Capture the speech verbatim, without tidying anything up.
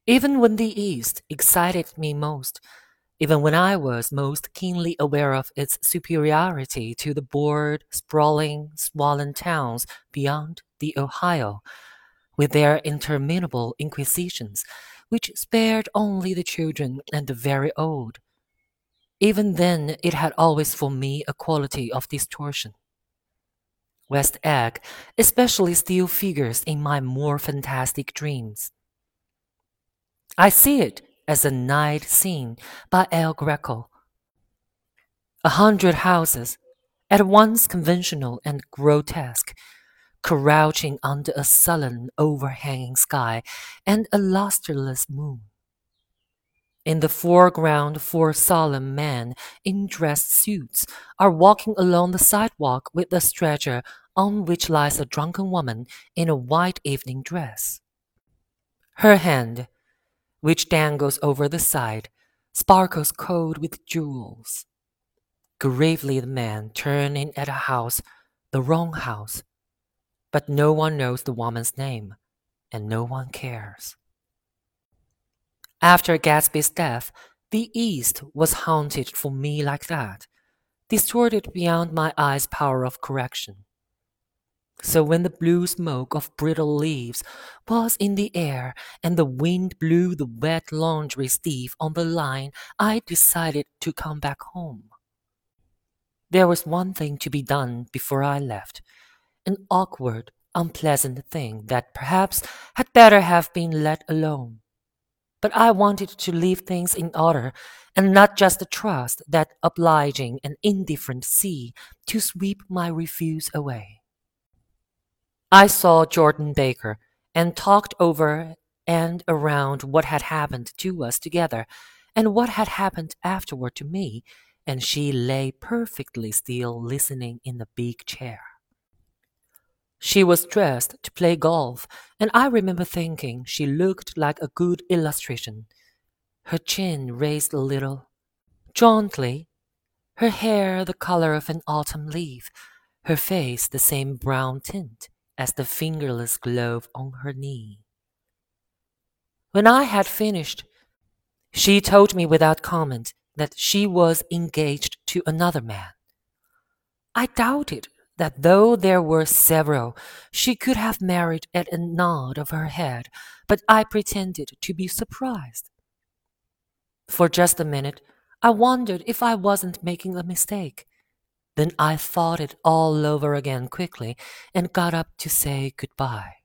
Even when the East excited me most, even when I was most keenly aware of its superiority to the bored, sprawling, swollen towns beyond the Ohio, with their interminable inquisitions, which spared only the children and the very old. Even then, it had always for me a quality of distortion. West Egg especially still figures in my more fantastic dreams. I see it as a night scene by El Greco. A hundred houses, at once conventional and grotesque, crouching under a sullen overhanging sky and a lustreless moon. In the foreground, four solemn men in dress suits are walking along the sidewalk with a stretcher on which lies a drunken woman in a white evening dress. Her hand, which dangles over the side, sparkles cold with jewels. Gravely the man turns in at a house, the wrong house, but no one knows the woman's name, and no one cares. After Gatsby's death, the East was haunted for me like that, distorted beyond my eye's power of correction. So when the blue smoke of brittle leaves was in the air and the wind blew the wet laundry stiff on the line, I decided to come back home. There was one thing to be done before I left, an awkward, unpleasant thing that perhaps had better have been let alone. But I wanted to leave things in order and not just trust that obliging and indifferent sea to sweep my refuse away. I saw Jordan Baker and talked over and around what had happened to us together and what had happened afterward to me, and she lay perfectly still listening in the big chair. She was dressed to play golf, and I remember thinking she looked like a good illustration. Her chin raised a little, jauntily, her hair the color of an autumn leaf, her face the same brown tint as the fingerless glove on her knee. When I had finished, she told me without comment that she was engaged to another man. I doubted that though there were several, she could have married at a nod of her head, but I pretended to be surprised. For just a minute, I wondered if I wasn't making a mistake. Then I thought it all over again quickly and got up to say goodbye.